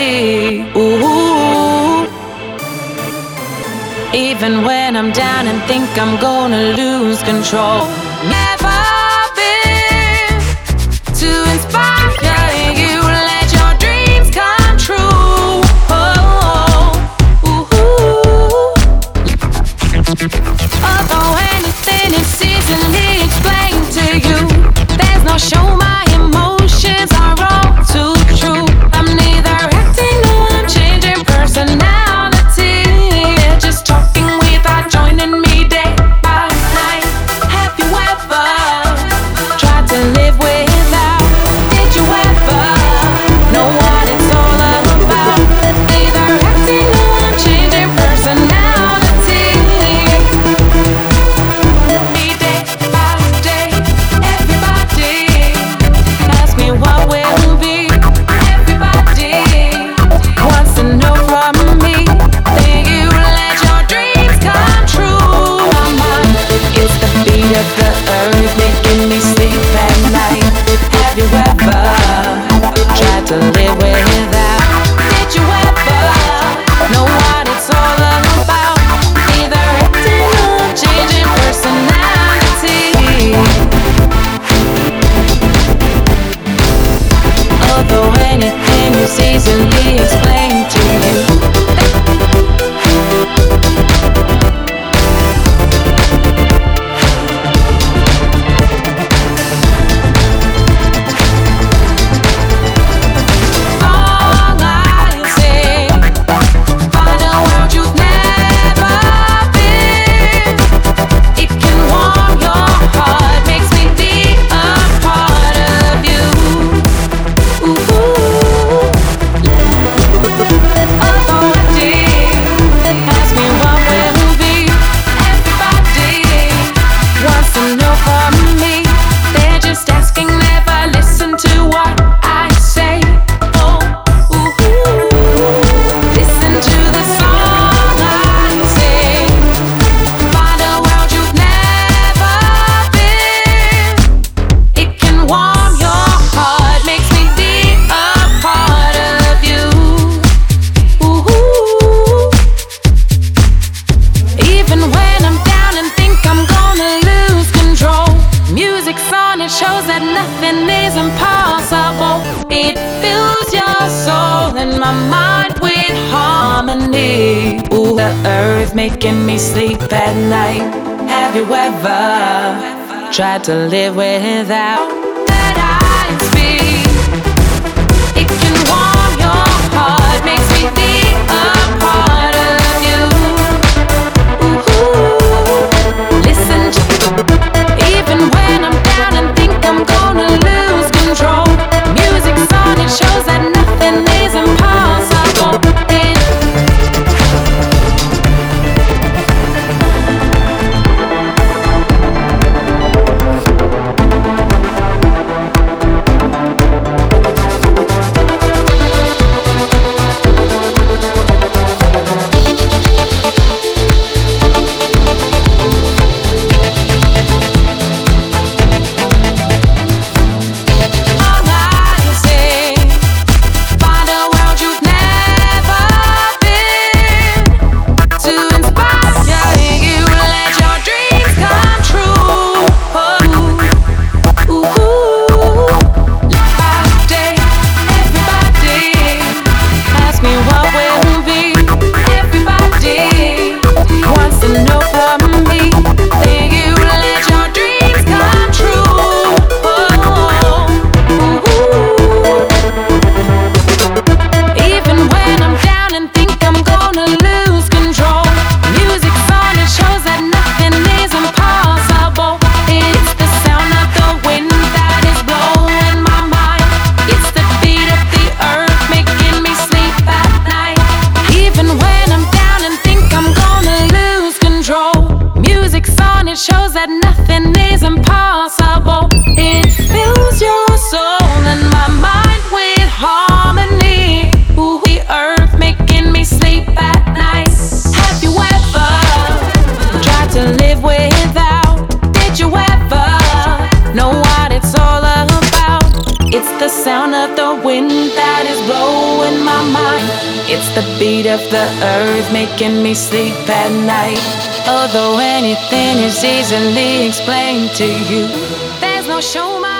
harmony. Ooh. Even when I'm down and think I'm gonna lose control, never been to inspire you. Let your dreams come true. Oh, ooh. Although anything is easily explained to you, there's no show my emotions are all too true. I'm neither acting nor I'm changing personality. Just talking without joining me day by night. Have you ever tried to live without? Did you ever know what it's all about? Neither acting nor I'm changing personality. Day by day, everybody ask me what will be. Everybody wants to know from me. Think you let your dreams come true. My mind, it's the beat of the earth making me sleep at night. Have you ever tried to live without? Did you ever know what it's all about? Neither acting nor changing personality. Although anything is easily explained to you. Long I say, find a world you've never been. It can warm your heart, makes me be a part of you. Ooh. Although I did ask me what will be. Everybody wants to know from me. They're just asking, never listen to what I say. Oh, ooh. Listen to the song I sing. Find a world you've never been. It can warm your heart, makes me be a part of you. Ooh. Even when I'm down and think I'm gonna lose control, music's on, it shows that nothing is impossible. It fills your soul and my mind with harmony. Ooh, the earth making me sleep at night. Have you ever tried to live without? That I speak, it can warm your heart, makes me be a part of you. Ooh, listen to, even when I'm down and think I'm gonna lose control, music's on, it shows that nothing is impossible. Long I say, find a world you've never been. To inspire you, let your dreams come true. Ooh, by day, everybody ask me what will be. Everybody wants to know from me. Think you let your dreams come true. Ooh. Even when I'm down and think I'm gonna lose control, music's on, it shows that nothing is impossible. It's the sound of the wind that is blowing my mind. It's the beat of the earth making me sleep at night. Even when I'm down and think I'm gonna lose control, music's on, it shows that nothing is impossible. It fills your soul and my mind with harmony. Ooh, the earth making me sleep at night. Have you ever tried to live without? Did you ever know what it's all about? It's the sound of the wind that is blowing my my mind. It's the beat of the earth making me sleep at night. Although anything is easily explained to you, there's no show.